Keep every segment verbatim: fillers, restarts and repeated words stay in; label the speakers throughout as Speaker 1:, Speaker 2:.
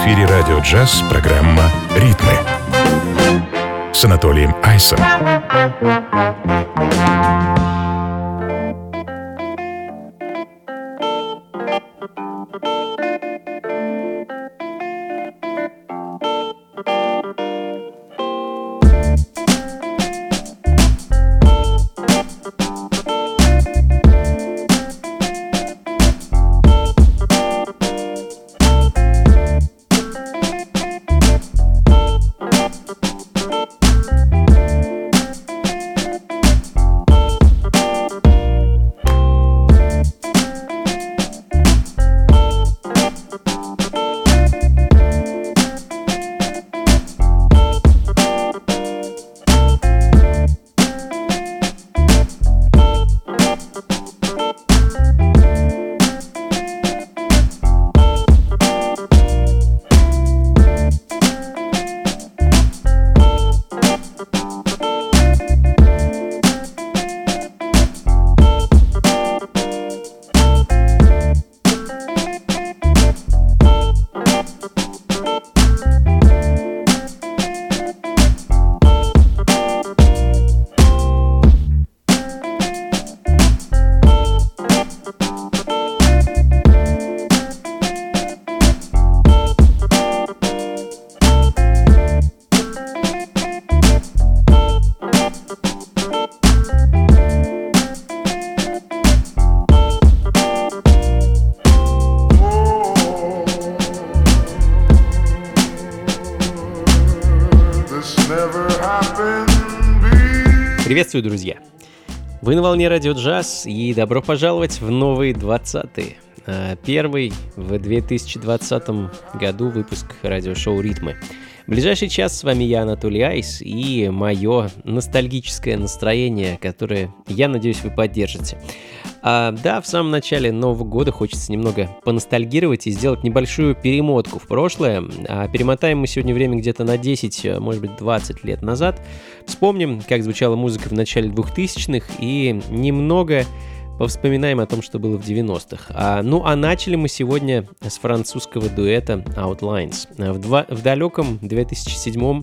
Speaker 1: эфире радио «Джаз» программа «Ритмы» с Анатолием Айсом.
Speaker 2: Приветствую, друзья! Вы на волне Радио Джаз, и добро пожаловать в новый двадцатый, первый в две тысячи двадцатом году выпуск радиошоу «Ритмы». В ближайший час с вами я, Анатолий Айс, и мое ностальгическое настроение, которое, я надеюсь, вы поддержите. А, да, в самом начале Нового года хочется немного поностальгировать и сделать небольшую перемотку в прошлое. А перемотаем мы сегодня время где-то на десять, может быть, двадцать лет назад. Вспомним, как звучала музыка в начале двухтысячных, и немного повспоминаем о том, что было в девяностых. А, ну, а начали мы сегодня с французского дуэта Outlines. В, два, в далеком две тысячи седьмом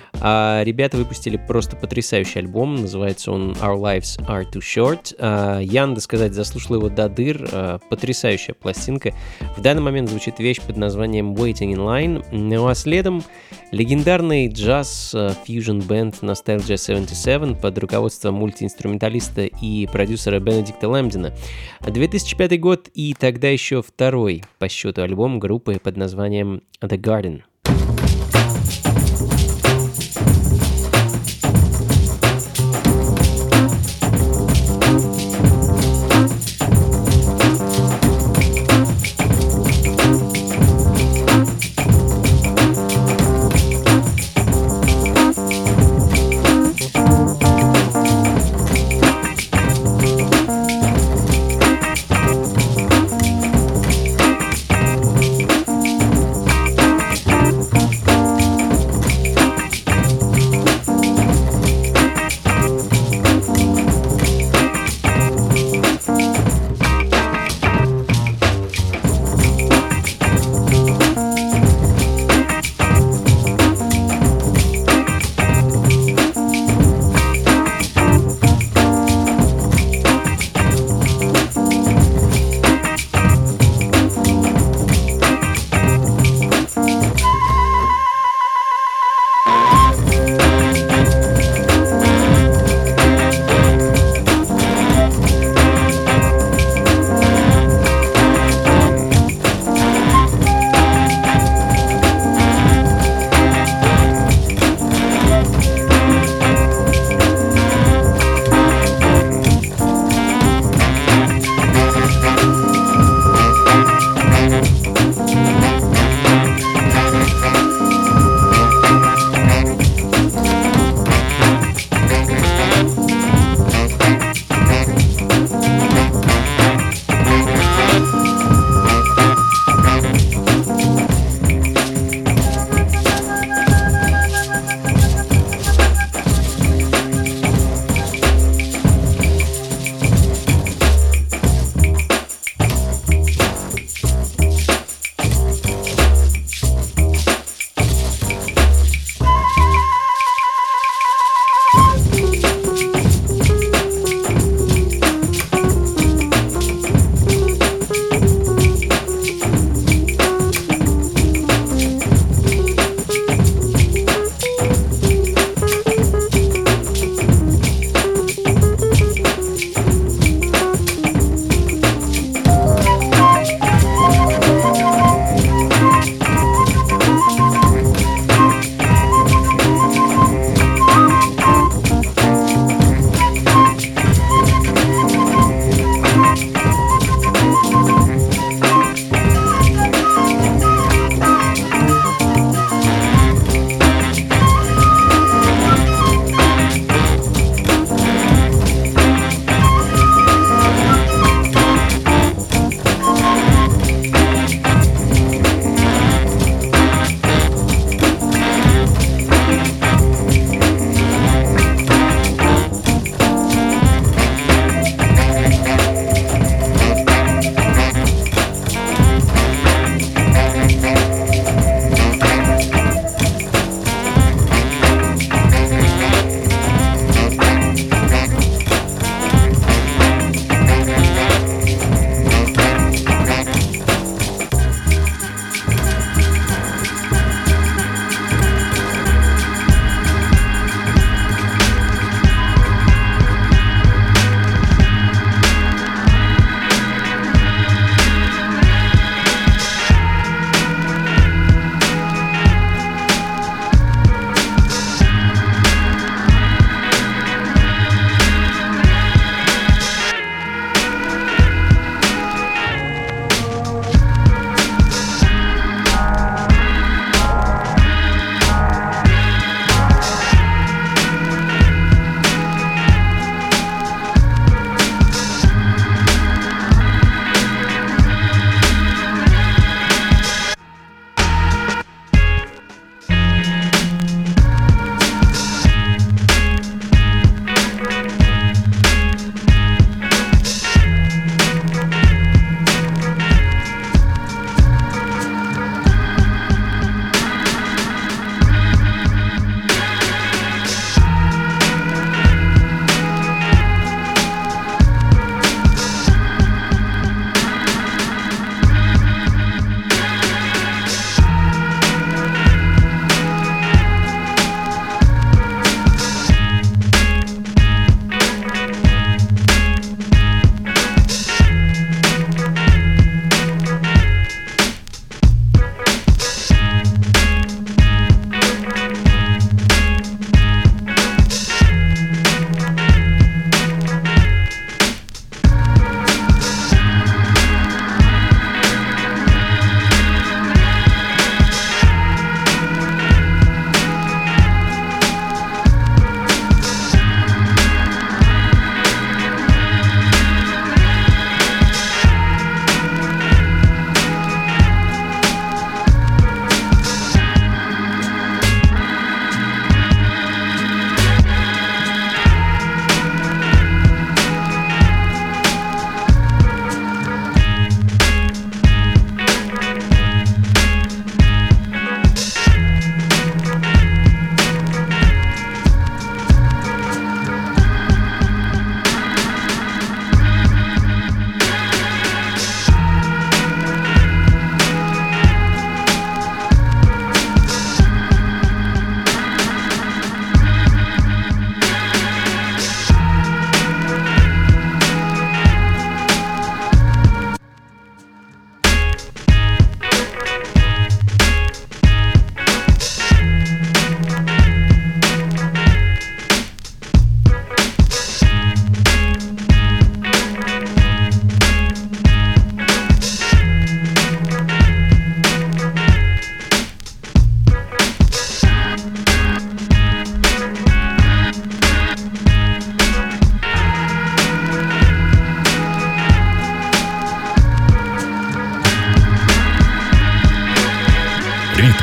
Speaker 2: а, ребята выпустили просто потрясающий альбом. Называется он Our Lives Are Too Short. А, я, надо сказать, заслушал его до дыр. А, потрясающая пластинка. В данный момент звучит вещь под названием Waiting in Line. Ну а следом легендарный джаз-фьюжн-бэнд Nostalgia семьдесят семь под руководством мультиинструменталиста и продюсера Бенедикта Лэмбдена. две тысячи пятый год и тогда еще второй по счету альбом группы под названием The Garden.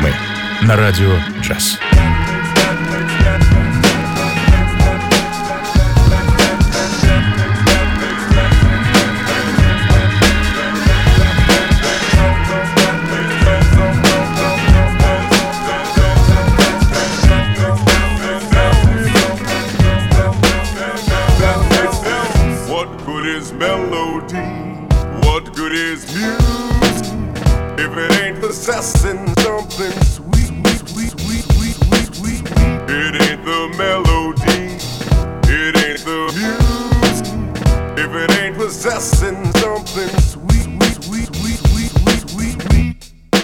Speaker 1: Ритмы на радио джаз.
Speaker 3: Possessing something sweet, sweet, sweet, sweet, sweet, sweet. It ain't the melody, it ain't the music. If it ain't possessing something sweet, sweet, sweet, sweet, sweet, sweet, sweet, sweet.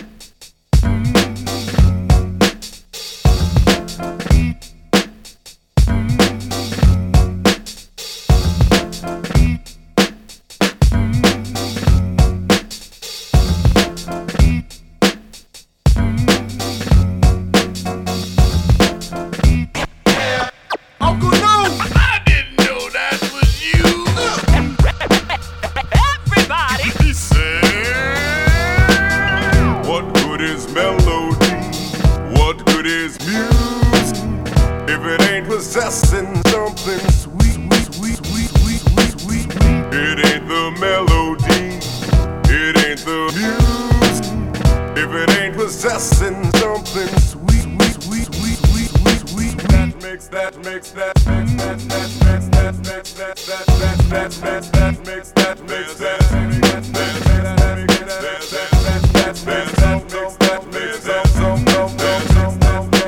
Speaker 3: Possessing something sweet, sweet, sweet, sweet, sweet, sweet, sweet. It ain't the melody, it ain't the music. If it ain't possessing something sweet, sweet, sweet, sweet, sweet, sweet, sweet. That makes that makes that makes that that makes that makes that that that that that makes that makes that that makes that makes that that makes that makes that so no no no no no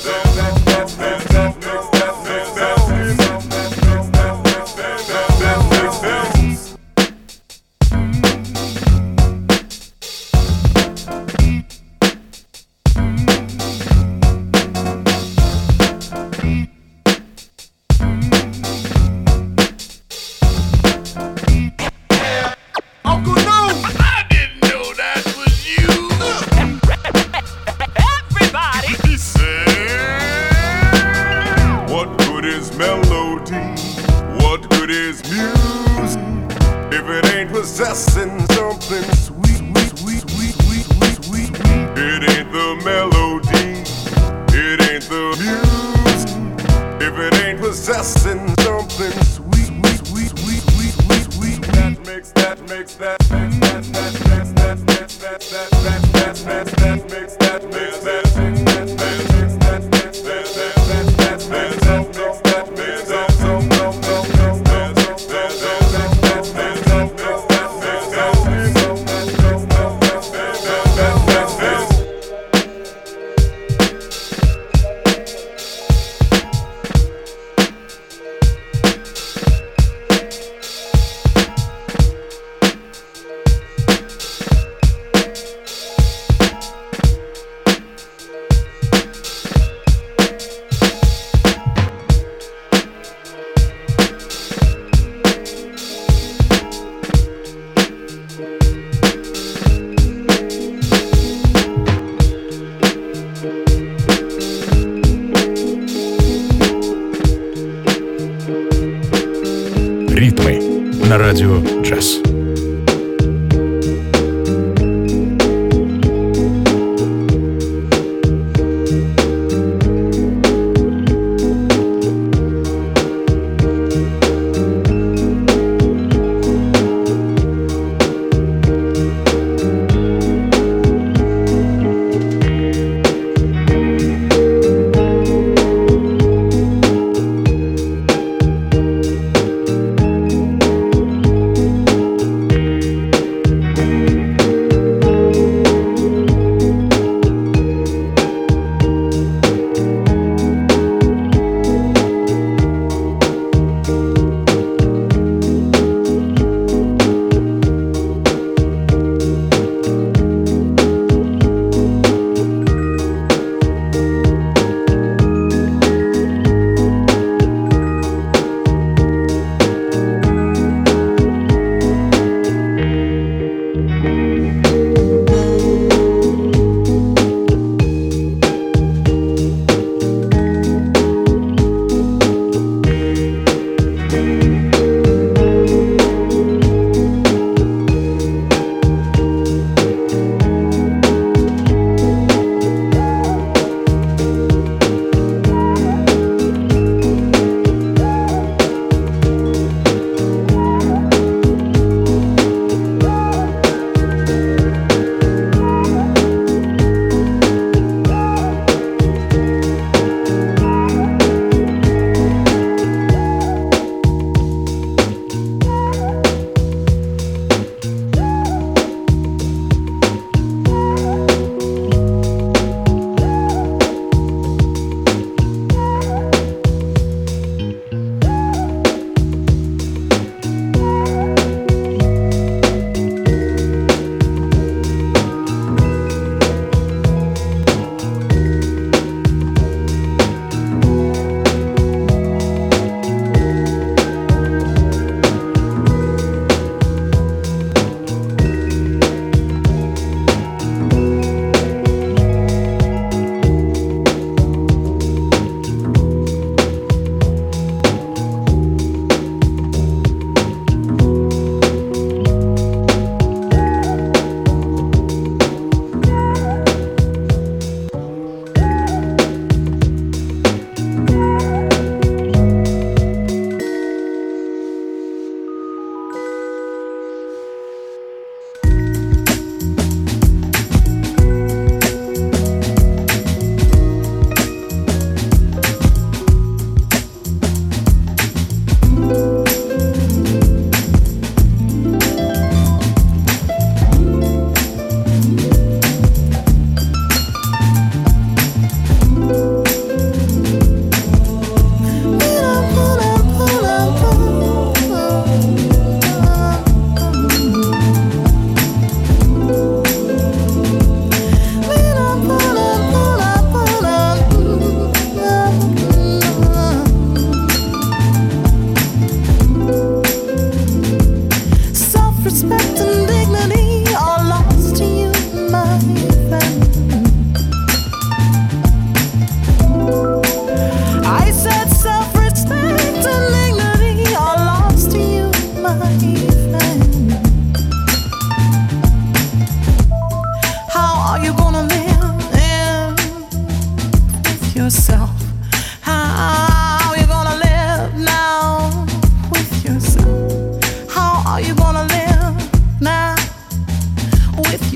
Speaker 3: possessing something sweet, sweet, sweet, sweet, sweet, sweet, sweet. It ain't the melody, it ain't the music. If it ain't possessing something sweet, sweet, sweet, sweet, sweet, sweet, sweet. That makes that makes that makes that that makes that makes that that that that that makes that makes that makes that makes that makes that that that makes that makes that so no no no no.
Speaker 1: Ритмы на радио джаз.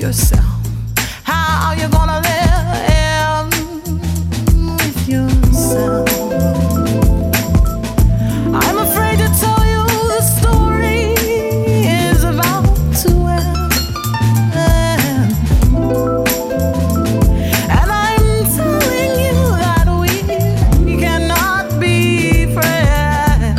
Speaker 4: yourself. How are you gonna live with yourself? I'm afraid to tell you the story is about to end, and I'm telling you that we cannot be friends.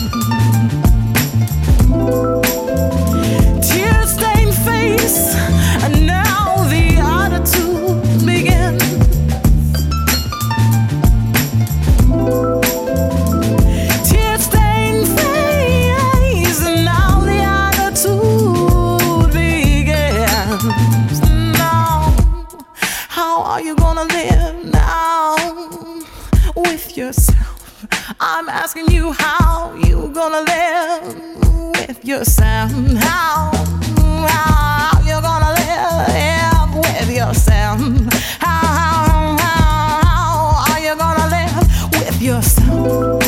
Speaker 4: Tear-stained face, and now the attitude begins. Tear-stained face, and now the attitude begins. Now, how are you gonna live now with yourself? I'm asking you, how you gonna live with yourself? How, how you gonna live with yourself? How, how, how, how are you gonna live with yourself?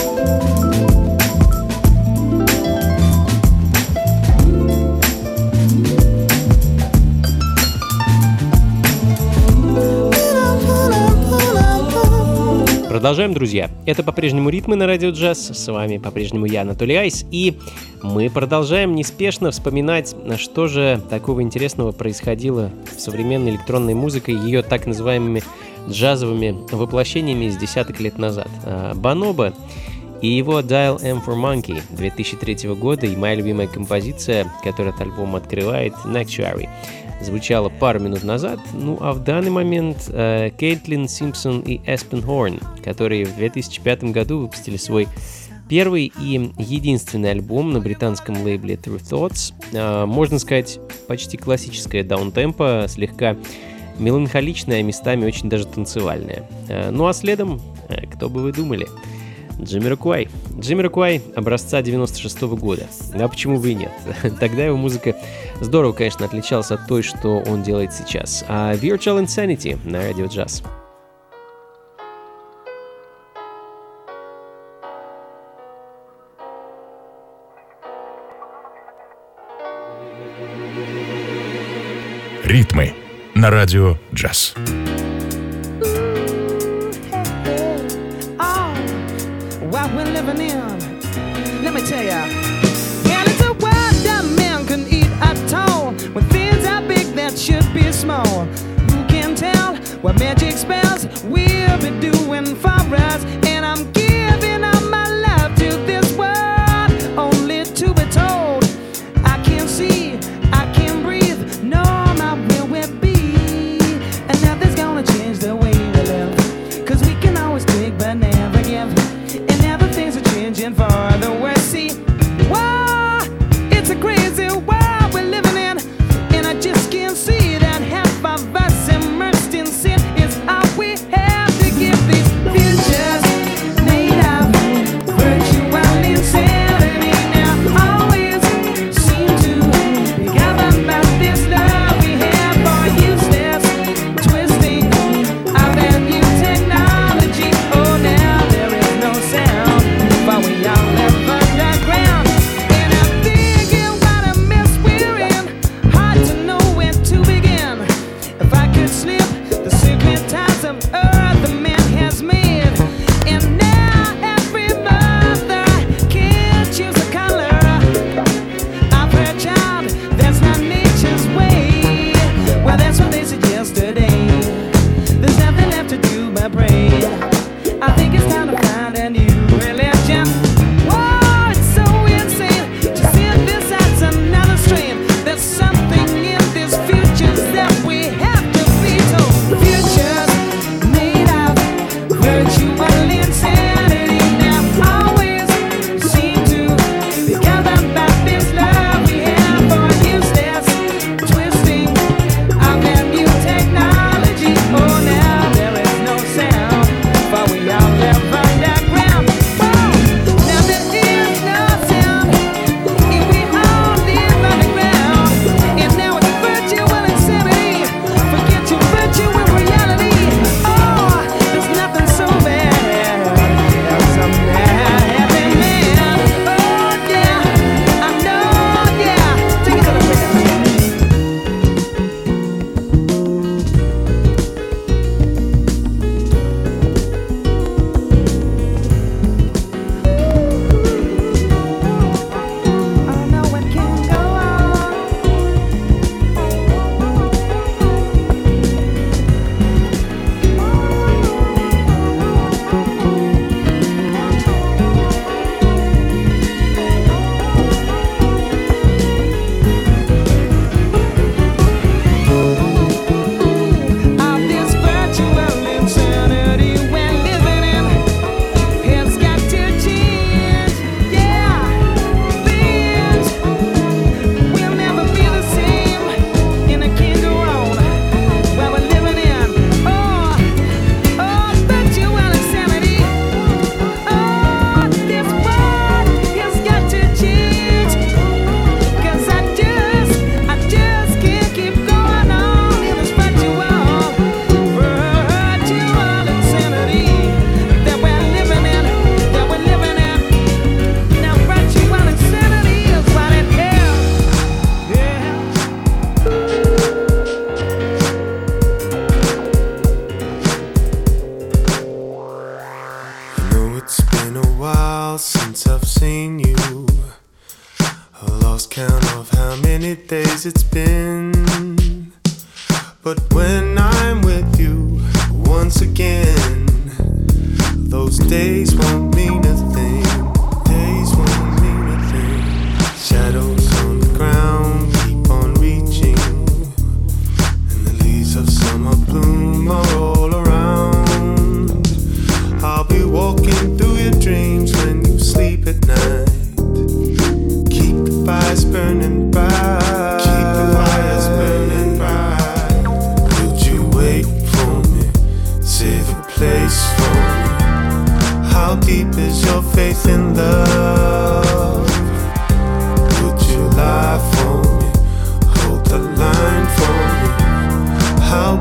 Speaker 2: Продолжаем, друзья. Это по-прежнему «Ритмы» на Радио Джаз. С вами по-прежнему я, Анатолий Айс. И мы продолжаем неспешно вспоминать, что же такого интересного происходило в современной электронной музыке, ее так называемыми джазовыми воплощениями из десяток лет назад. Бонобо и его Dial M for Monkey две тысячи третьего года, и моя любимая композиция, которая этот альбом открывает, Nectuary, звучала пару минут назад. Ну а в данный момент э, Кейтлин Симпсон и Эспен Хорн, которые в две тысячи пятом году выпустили свой первый и единственный альбом на британском лейбле True Thoughts. Э, можно сказать, почти классическое даунтемпо, слегка меланхоличное, а местами очень даже танцевальное. Э, ну а следом, э, кто бы вы думали, Джамироквай. Джамироквай образца девяносто шестого года. А почему бы и нет? Тогда его музыка здорово, конечно, отличалась от той, что он делает сейчас. А Virtual Insanity на Радио Джаз.
Speaker 1: Ритмы на Радио Джаз.
Speaker 4: What we're living in, let me tell ya. And it's a world that man can eat at all, when things are big that should be small. Who can tell what magic spells we'll be doing for us? And I'm giving up my love to this world, only to be told I can't see, I can't breathe, no, my will will be. And nothing's gonna change the way we live, cause we can always take but never give. And now the things are changing for the worse. See, why?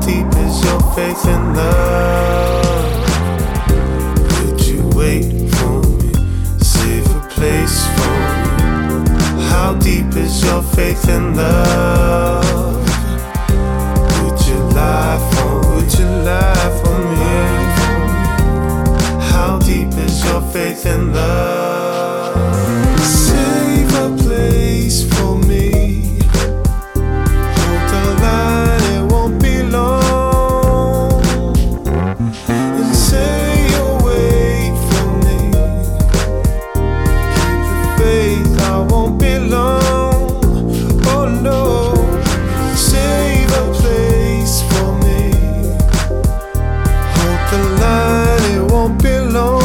Speaker 5: deep is your faith in love? Would you wait for me, save a place for me? How deep is your faith in love? Would you lie for, would you lie for me? How deep is your faith in love? Save a place for me. Hold the line, it won't be long. And say you'll wait for me. Keep the faith, I won't be long. Oh no, save a place for me. Hold the line, it won't be long.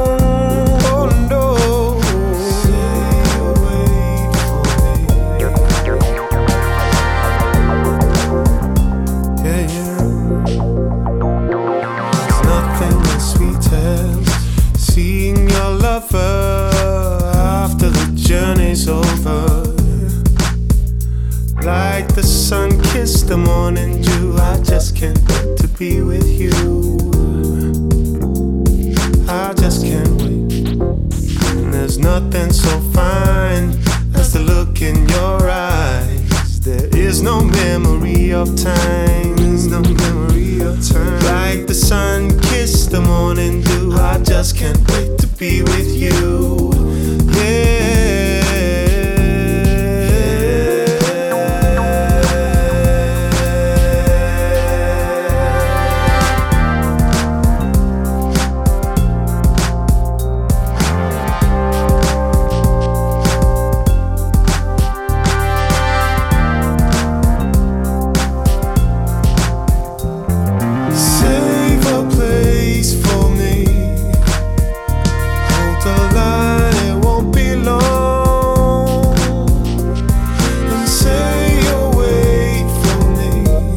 Speaker 5: After the journey's over, like the sun kissed the morning dew, I just can't wait to be with you. I just can't wait. And there's nothing so fine as the look in your eyes. There is no memory of time. There's no memory of time. Like the sun kissed the morning dew, I just can't wait to be with you. Yeah. Save a place for me. Hold the line, it won't be long. And say you'll wait for me.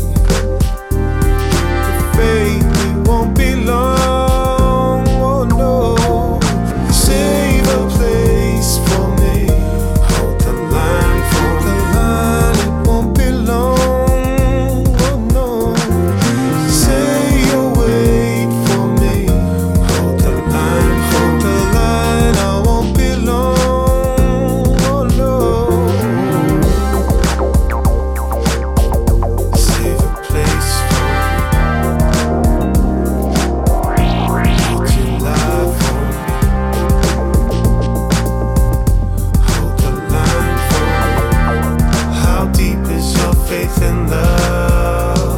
Speaker 5: The faith, it won't be long. Oh no, save a place for me. Hold the line, hold the line, it won't be long. Oh no, say you'll wait for me. Hold the line, hold the line, I won't be long. Oh no, save a place for me. Would you lie for me? Hold the line for me. How deep is your faith in love?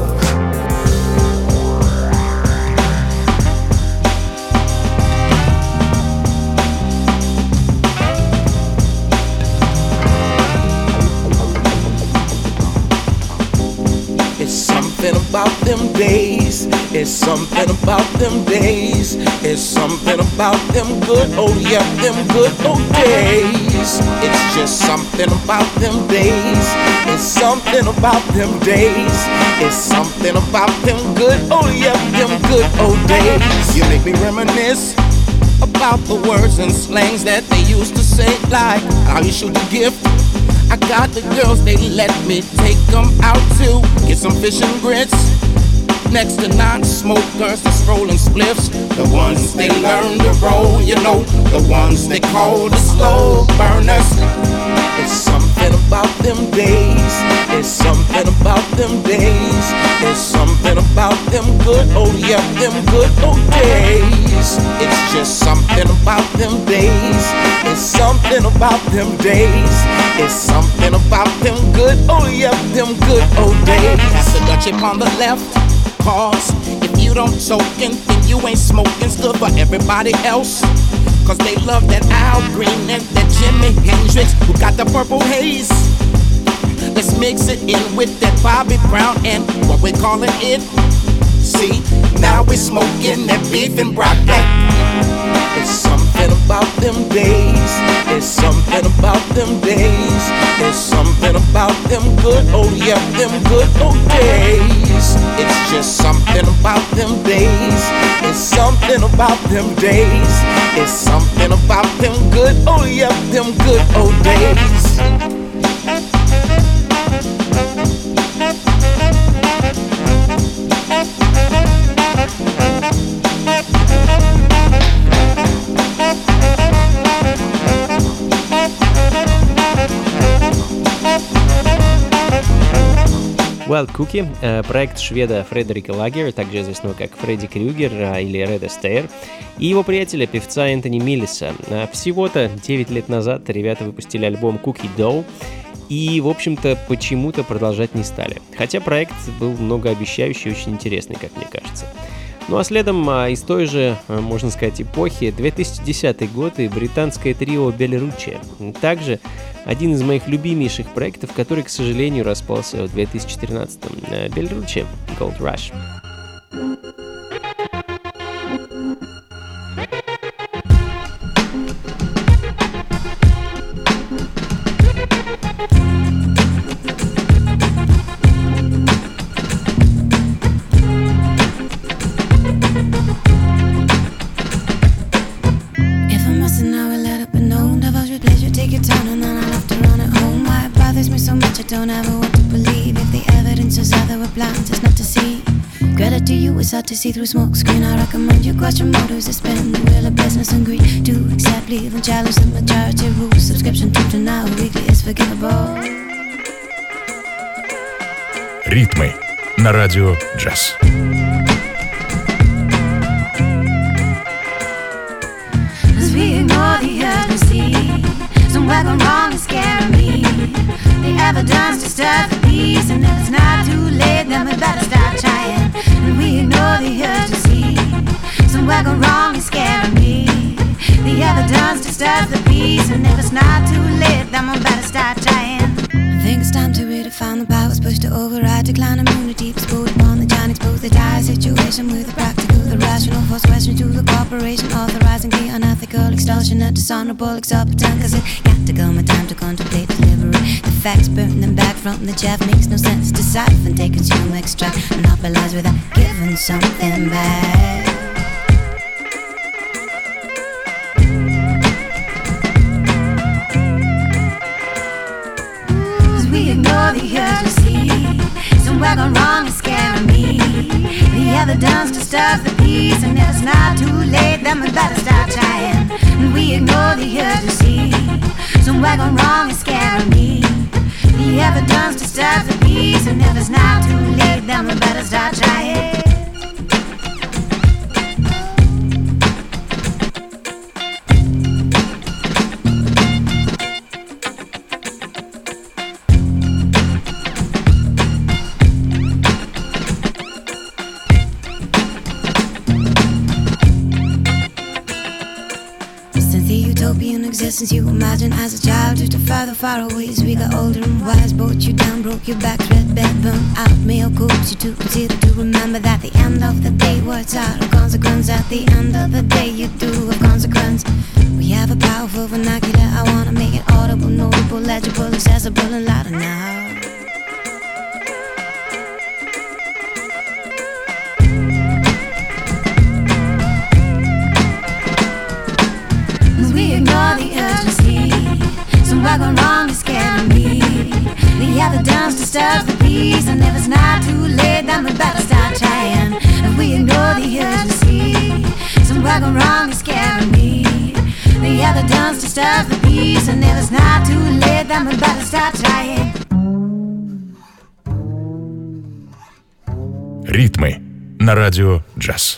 Speaker 6: It's something about them days. It's something about them days. It's something about them good, oh yeah, them good old days. It's just something about them days. It's something about them days. It's something about them good, oh yeah, them good old days. You make me reminisce about the words and slangs that they used to say, like how you shoot the gift. I got the girls, they let me take them out to get some fish and grits. Next to non-smokers that's rolling spliffs, the ones they learn to roll, you know, the ones they call the slow burners. It's something about them days. It's something about them days. It's something about them good, oh yeah, them good old days. It's just something about them days. It's something about them days. It's something about them good, oh yeah, them good old days. That's the Dutch on the left. Cause if you don't token, then you ain't smoking. Stood for everybody else. Cause they love that Al Green and that Jimi Hendrix, who got the purple haze. Let's mix it in with that Bobby Brown and what we calling it. See, now we're smoking that beef and broccoli. It's something about them days. It's something about them days. It's something about them good, oh yeah, them good old days. It's just something about them days. It's something about them days. It's something about them good, oh yeah, them good old days.
Speaker 2: Wild Cookie, проект шведа Фредерика Лагера, также известного как Фредди Крюгер или Ред Астейр, и его приятеля, певца Энтони Миллиса. Всего-то девять лет назад ребята выпустили альбом Cookie Dough, и, в общем-то, почему-то продолжать не стали. Хотя проект был многообещающий и очень интересный, как мне кажется. Ну а следом из той же, можно сказать, эпохи, две тысячи десятый год и британское трио Белеруччи. Также один из моих любимейших проектов, который, к сожалению, распался в две тысячи тринадцатом. Белеруччи, Gold Rush.
Speaker 7: Don't ever want to believe if the evidence is there were plans it's not to see. Credit to you, it's hard to see through smoke screen. I recommend you question motives to spend the wheel of business and greed. To accept, leave and challenge the majority rules. Subscription to to now weekly is forgivable.
Speaker 1: Ритмы на радио Джаз.
Speaker 7: As we ignore the urgency, somewhere gone wrong is scaring me. The evidence disturbs the peace, and if it's not too late, then we better start trying. And we ignore the urgency, somewhere gone wrong is scaring me. The evidence disturbs the peace, and if it's not too late, then we better start trying. I think it's time to redefine the powers pushed to override, decline immunity, explode upon the giant, expose the dire situation with the practical, the rational, force question to the corporation, authorizing the unethical extortion, a dishonorable exorbitant, cause it got to come a time to contemplate delivery. The facts burn them back from the chaff, makes no sense to siphon, take consumer extract, monopolize without giving something back. We ignore the urgency, somewhere gone wrong is scaring me. The evidence disturbs the peace, and if it's not too late, then we better start trying. And we ignore the urgency, somewhere gone wrong is scaring me. The evidence disturbs the peace, and if it's not too late, then we better start trying. Existence you imagine as a child, just a further far away. As we got older and wise, brought you down, broke your back, red bed, burned out, male coats you to consider to remember that the end of the day words out of consequence. At the end of the day, you do have consequence. We have a powerful vernacular. I wanna make it audible, notable, legible, accessible, and louder now. We ignore the urgency, somewhere gone wrong is scaring me. The evidence disturbs the peace, and if it's not too late, then we better start trying. If we ignore the urgency, somewhere gone wrong is scaring me. The evidence disturbs the peace, and if it's not too late, then we better start trying.
Speaker 1: Ритмы на радио Джаз.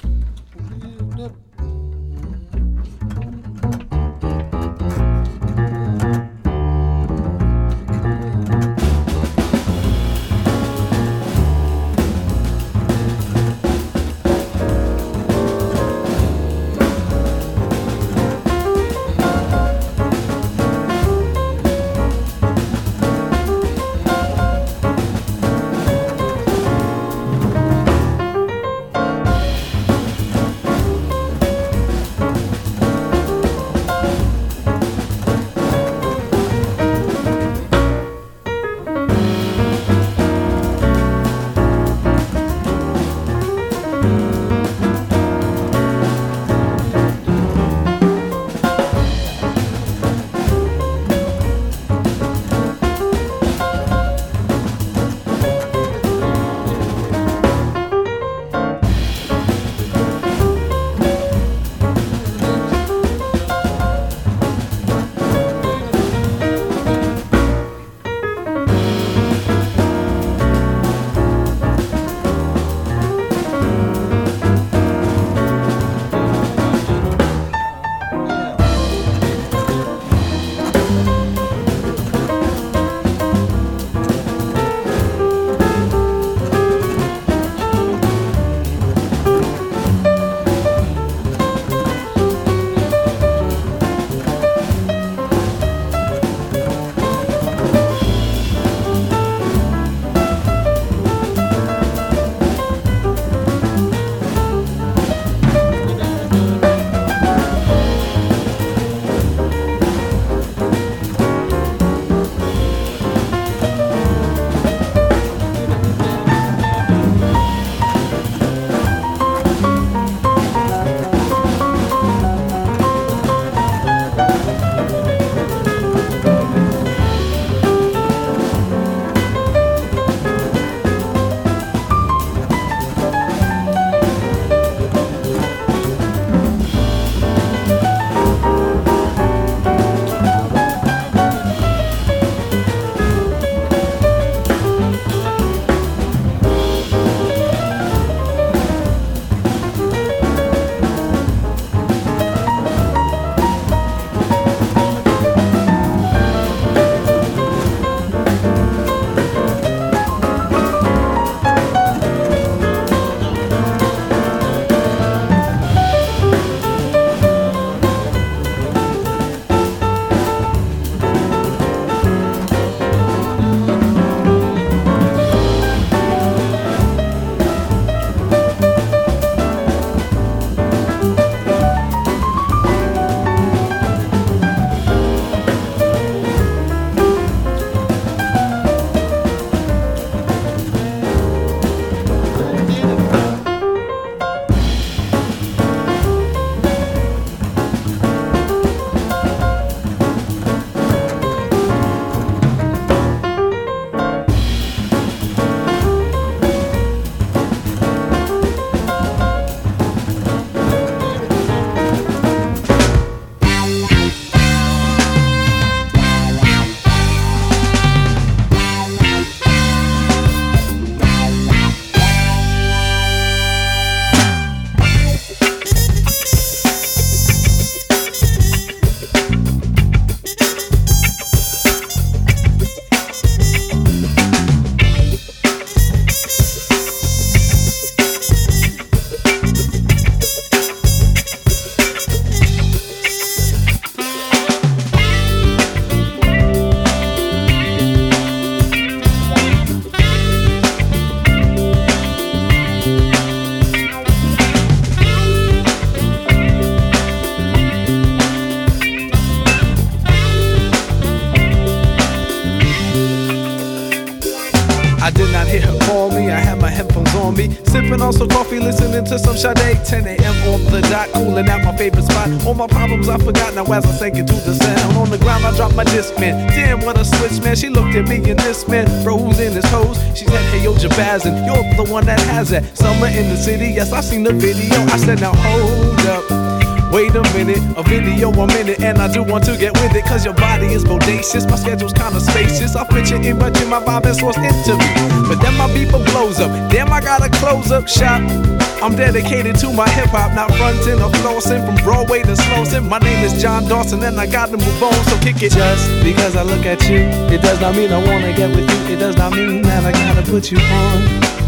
Speaker 8: on me. I had my headphones on me, sipping on some coffee, listening to some Sade. ten a.m. on the dot, cooling at my favorite spot. All my problems I forgot now as I sank into the sound. On the ground I dropped my disc, man. Damn, what a switch, man. She looked at me and this man froze in his pose. She said, hey, yo, Jabaz, and you're the one that has that. Summer in the city, yes, I seen the video. I said, now hold up. Wait a minute, a video a minute, and I do want to get with it, cause your body is bodacious, my schedule's kinda spacious. I'll fit you in, but you're my vibe and source interview. But then my beeper blows up, damn I gotta close up shop. I'm dedicated to my hip hop, not frontin' or flossing, from Broadway to Slauson. My name is John Dawson and I gotta move on, so kick it. Just because I look at you, it does not mean I wanna get with you. It does not mean that I gotta put you on.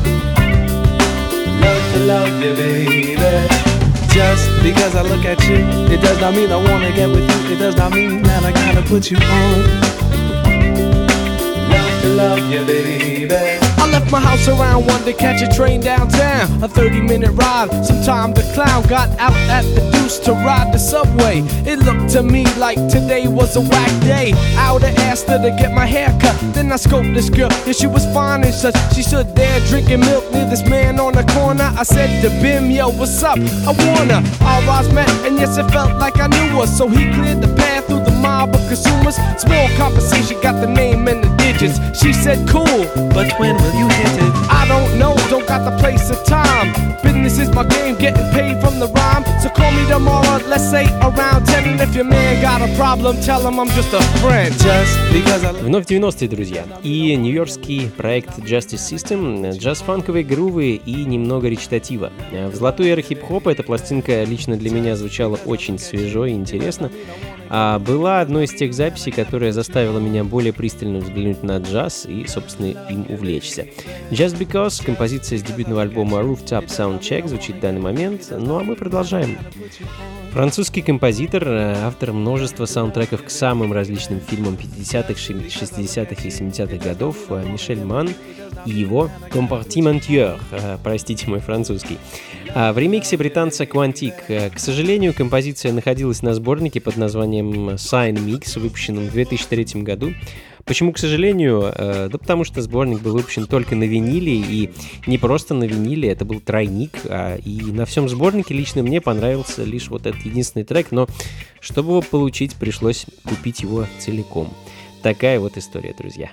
Speaker 8: Love to love you, baby. Just because I look at you, it does not mean I wanna get with you. It does not mean that I gotta put you on. Love to love you, baby. I left my house around one to catch a train downtown. A thirty minute ride, sometime the clown got out at the deuce to ride the subway. It looked to me like today was a whack day. I would've asked her to get my hair cut. Then I scoped this girl, yeah, she was fine and such. She stood there drinking milk near this man on the corner. I said to Bim, yo, what's up? I wanna. Our eyes met, and yes, it felt like I knew her. So he cleared the path through the mob of consumers. Small conversation, got the name and the digits. She said, cool, but when will you hit it? I don't know, don't got the place or time. Business is my game, getting paid from the rhyme. So call me tomorrow, let's say around ten. And if your man got a problem, tell him I'm just a friend. Just because I...
Speaker 2: Вновь девяностые, друзья. И нью-йоркский проект Justice System, джаз-фанковые грувы и немного речитатива. В золотую эру хип-хопа эта пластинка лично для меня звучала очень свежо и интересно. А была одной из тех записей, которая заставила меня более пристально взглянуть на джаз и, собственно, им увлечься. Just Because, композиция с дебютного альбома Rooftop Soundcheck, звучит в данный момент, ну а мы продолжаем. Французский композитор, автор множества саундтреков к самым различным фильмам пятидесятых, шестидесятых и семидесятых годов, Мишель Манн и его «Compartimentier», простите мой французский. В ремиксе британца Quantique. К сожалению, композиция находилась на сборнике под названием Sign Mix, выпущенном в две тысячи третьем году. Почему, к сожалению? Да потому что сборник был выпущен только на виниле, и не просто на виниле, это был тройник, и на всем сборнике лично мне понравился лишь вот этот единственный трек, но чтобы его получить, пришлось купить его целиком. Такая вот история, друзья.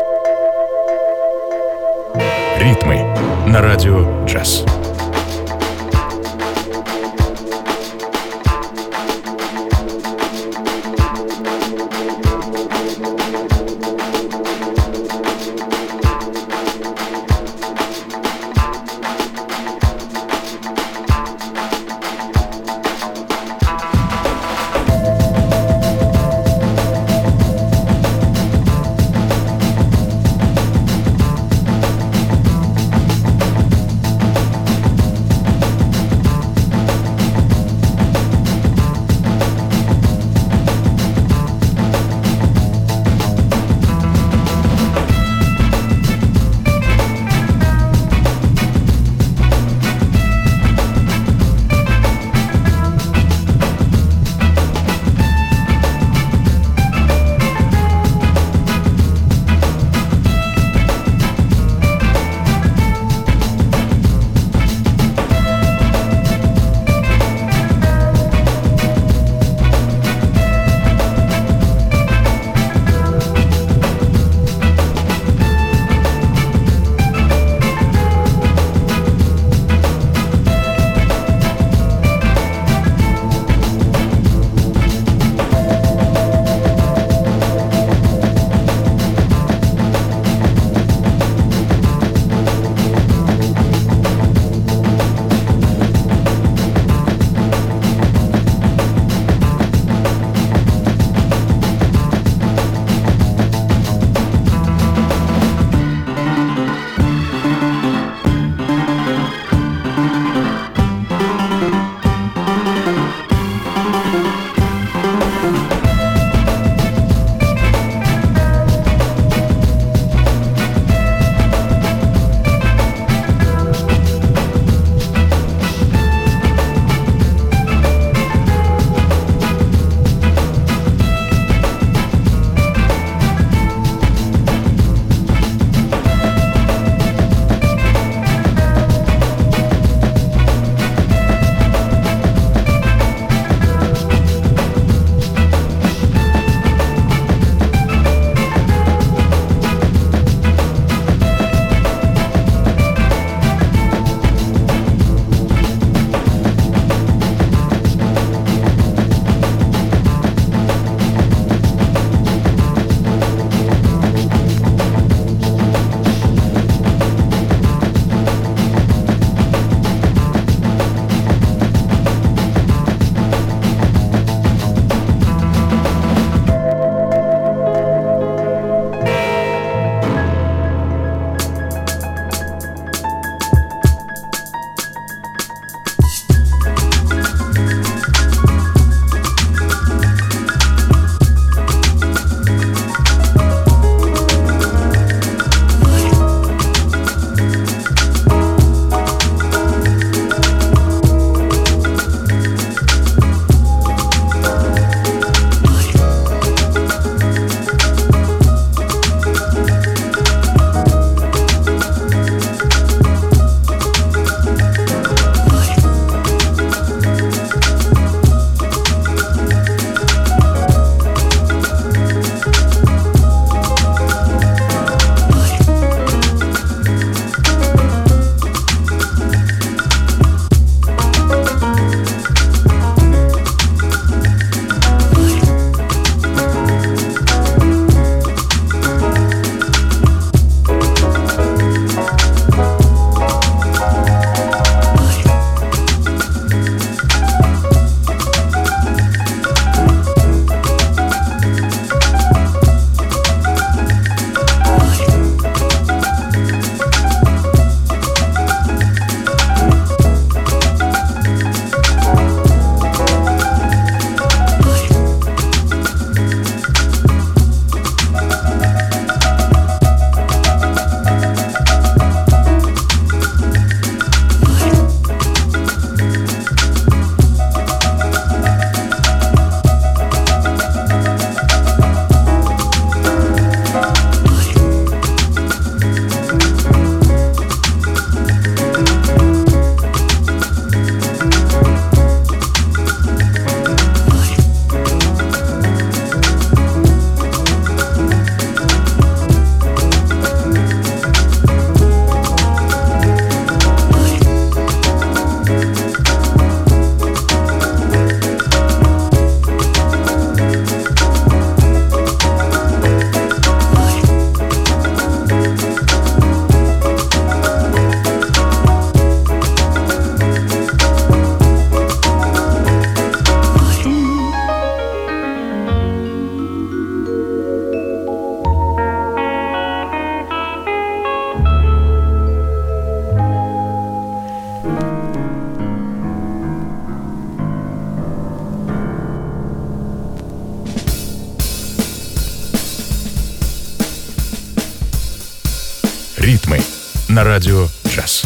Speaker 1: Ритмы на радио «Джаз». на радио «Джаз».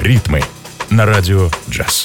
Speaker 1: «Ритмы» на радио «Джаз».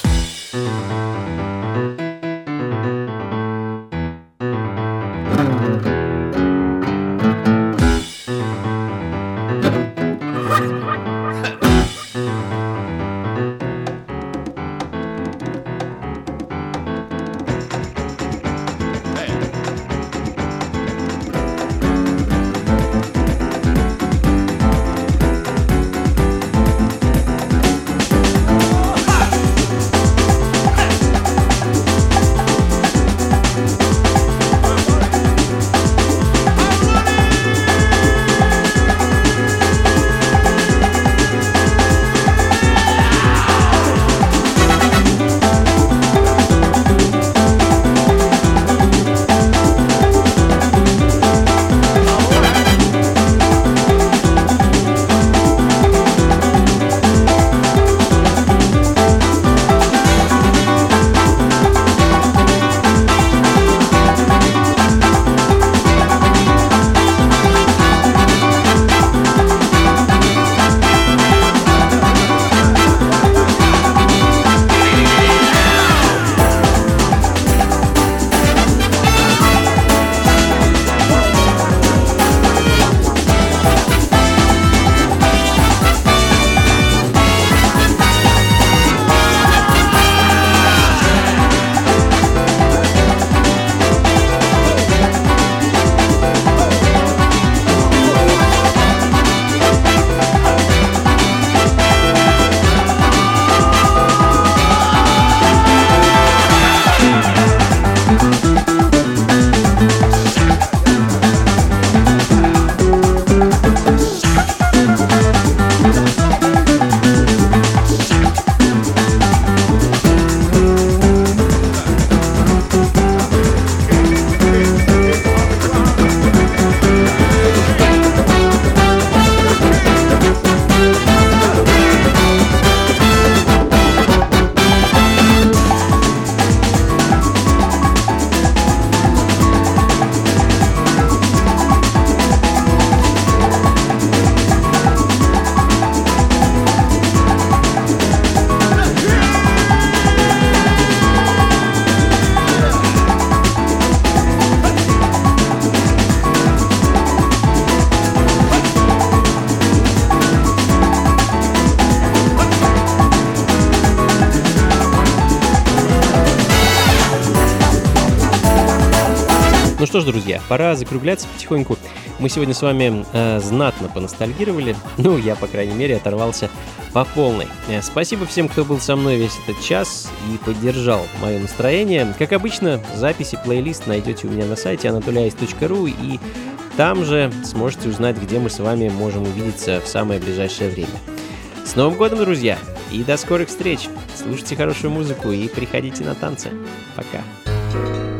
Speaker 2: Ну что ж, друзья, пора закругляться потихоньку. Мы сегодня с вами э, знатно поностальгировали. Ну, я, по крайней мере, оторвался по полной. Э, спасибо всем, кто был со мной весь этот час и поддержал мое настроение. Как обычно, записи, плейлист найдете у меня на сайте анатолий айс точка ру, и там же сможете узнать, где мы с вами можем увидеться в самое ближайшее время. С Новым годом, друзья! И до скорых встреч! Слушайте хорошую музыку и приходите на танцы. Пока!